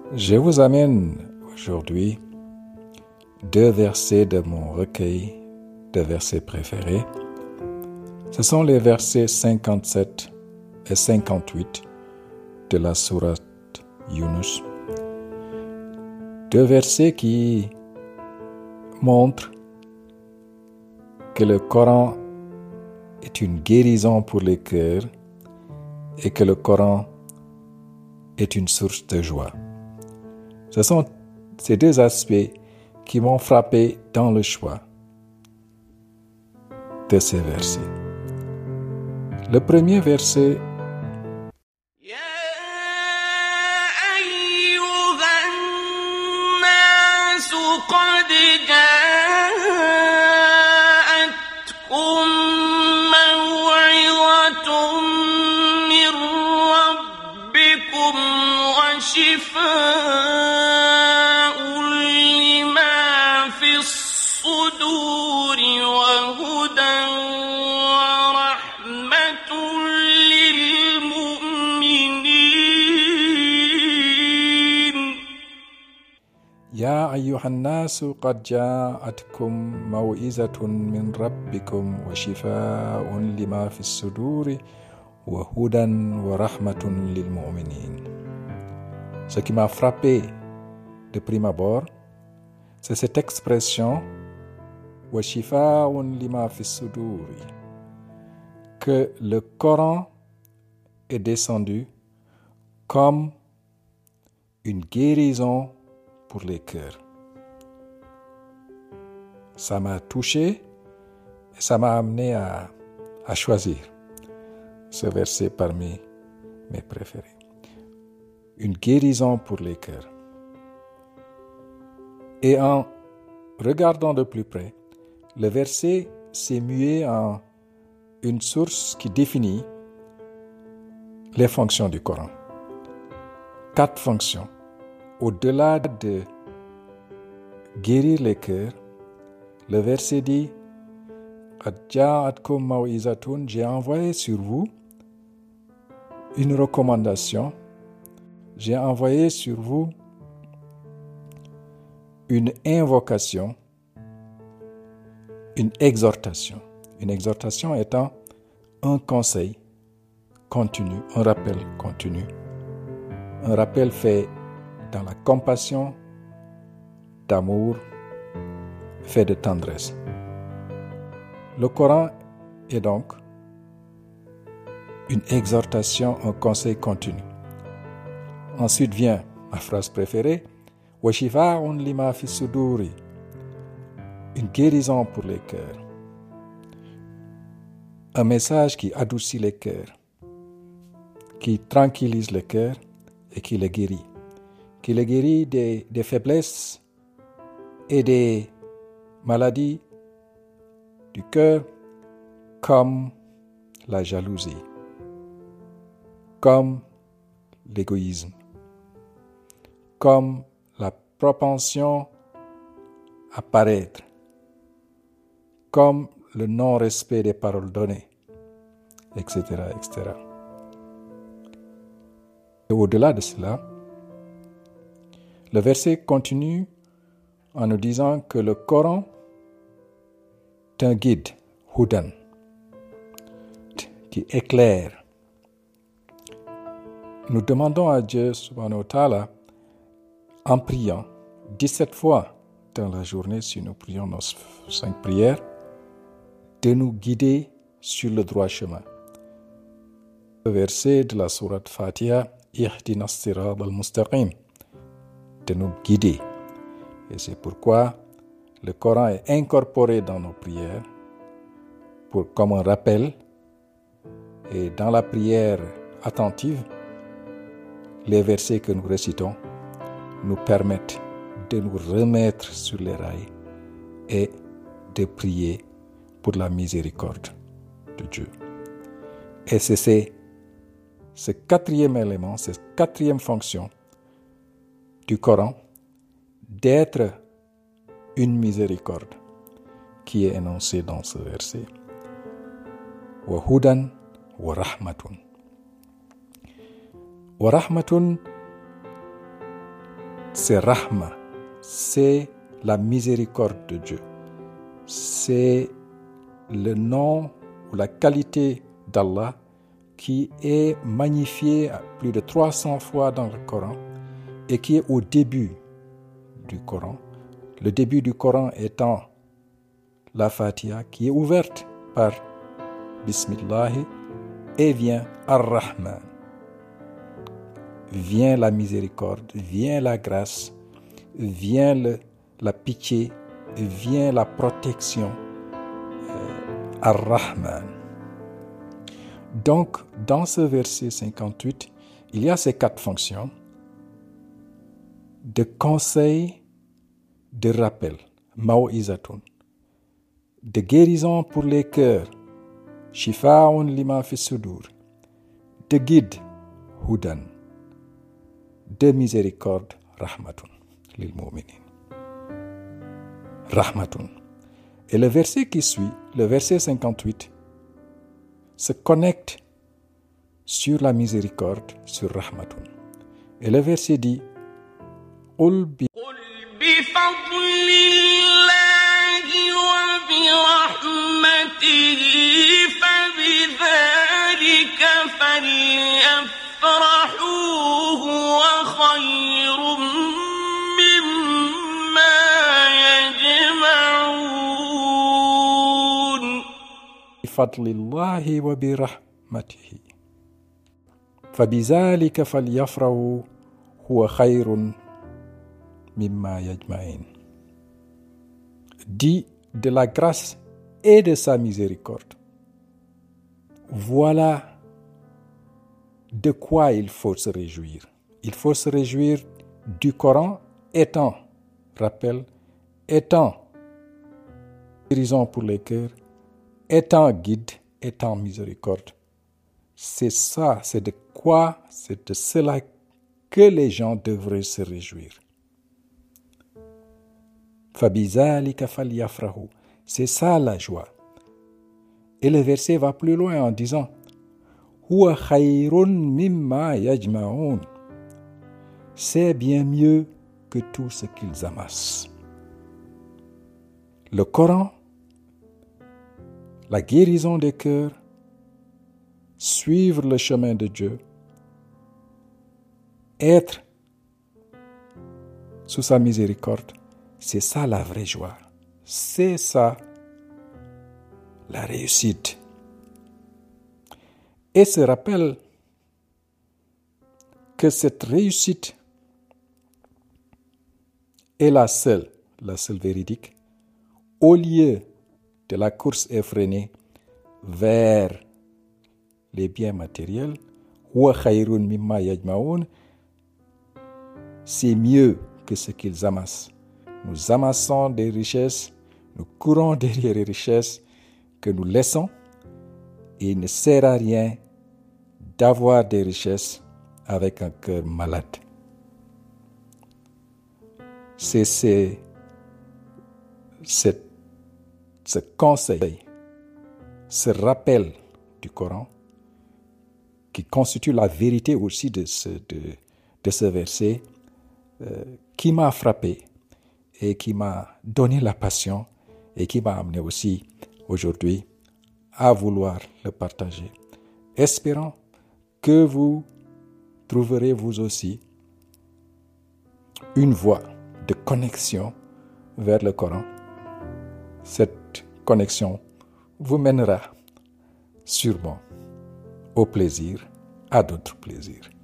Je vous amène aujourd'hui 2 versets de mon recueil de versets préférés. Ce sont les versets 57 et 58 de la sourate Yunus. 2 versets qui montrent que le Coran est une guérison pour les cœurs et que le Coran est une source de joie. Ce sont ces 2 aspects qui m'ont frappé dans le choix de ces versets. Le premier verset يا أيها الناس قد جاءتكم موعظة من ربكم وشفاء لما في الصدور وهدى ورحمة للمؤمنين. Ce qui m'a frappé de prime abord, c'est cette expression وشفاء لما في الصدور, que le Coran est descendu comme une guérison pour les cœurs. Ça m'a touché et ça m'a amené à choisir ce verset parmi mes préférés. Une guérison pour les cœurs. Et en regardant de plus près, le verset s'est mué en une source qui définit les fonctions du Coran. 4 fonctions. Au-delà de guérir les cœurs, le verset dit j'ai envoyé sur vous une recommandation, j'ai envoyé sur vous une invocation, une exhortation. Une exhortation étant un conseil continu, un rappel continu, un rappel fait dans la compassion, d'amour, fait de tendresse. Le Coran est donc une exhortation, un conseil continu. Ensuite vient ma phrase préférée, وَشِفَاءٌ لِمَا فِي الصُّدُورِ, une guérison pour les cœurs. Un message qui adoucit les cœurs, qui tranquillise les cœurs et qui les guérit. Qui les guérit des faiblesses et des maladies du cœur, comme la jalousie, comme l'égoïsme, comme la propension à paraître, comme le non-respect des paroles données, etc., etc. Et au-delà de cela, le verset continue en nous disant que le Coran est un guide, hudan, qui éclaire. Nous demandons à Dieu, subhanahu wa ta'ala, en priant 17 fois dans la journée, si nous prions nos 5 prières, de nous guider sur le droit chemin. Le verset de la sourate Fatiha, Ihdina as-sirata al-mustaqim, de nous guider. Et c'est pourquoi le Coran est incorporé dans nos prières comme un rappel. Et dans la prière attentive, les versets que nous récitons nous permettent de nous remettre sur les rails et de prier pour la miséricorde de Dieu. Et c'est ce 4e élément, cette 4e fonction du Coran, d'être une miséricorde qui est énoncée dans ce verset. Wa hudan wa rahmatun. Wa rahmatun c'est Rahma, c'est la miséricorde de Dieu. C'est le nom ou la qualité d'Allah qui est magnifié plus de 300 fois dans le Coran et qui est au début du Coran. Le début du Coran étant la Fatiha qui est ouverte par Bismillah et vient Ar-Rahman. Vient la miséricorde, vient la grâce, vient la pitié, vient la protection. Ar-Rahman. Donc, dans ce verset 58, il y a ces 4 fonctions de conseil, de rappel, mau'izatun, de guérison pour les cœurs, shifa'un lima fi sudur, de guide, hudan, de miséricorde, rahmatun lil mu'minin. Rahmatun. Et le verset qui suit, le verset 58, se connecte sur la miséricorde, sur Rahmatun. Et le verset dit قُلْ بِفَضْلِ اللَّهِ وَبِرَحْمَتِهِ فَبِذَلِكَ فَلْيَفْرَحُوا هُوَ خَيْرٌ مِّمَّا يَجْمَعُونَ. بِفَضْلِ اللَّهِ وَبِرَحْمَتِهِ فَبِذَلِكَ فَلْيَفْرَحُوا هُوَ خَيْرٌ مِّمَّا يَجْمَعُونَ. Dit de la grâce et de sa miséricorde. Voilà de quoi il faut se réjouir. Il faut se réjouir du Coran étant, rappel, étant guérison pour les cœurs, étant guide, étant miséricorde. C'est ça, c'est de quoi, c'est de cela que les gens devraient se réjouir. Fabizalika falyafrahu. C'est ça la joie. Et le verset va plus loin en disant Huwa khayrun mimma yajma'un. C'est bien mieux que tout ce qu'ils amassent. Le Coran, la guérison des cœurs, suivre le chemin de Dieu, être sous sa miséricorde, c'est ça la vraie joie. C'est ça la réussite. Et se rappelle que cette réussite est la seule véridique, au lieu de la course effrénée vers les biens matériels, huwa khayrun mimma yajma'un, c'est mieux que ce qu'ils amassent. Nous amassons des richesses, nous courons derrière les richesses que nous laissons, et il ne sert à rien d'avoir des richesses avec un cœur malade. C'est ce conseil, ce rappel du Coran qui constitue la vérité aussi de ce verset qui m'a frappé et qui m'a donné la passion et qui m'a amené aussi aujourd'hui à vouloir le partager. Espérant que vous trouverez vous aussi une voie de connexion vers le Coran. Cette connexion vous mènera sûrement au plaisir, à d'autres plaisirs.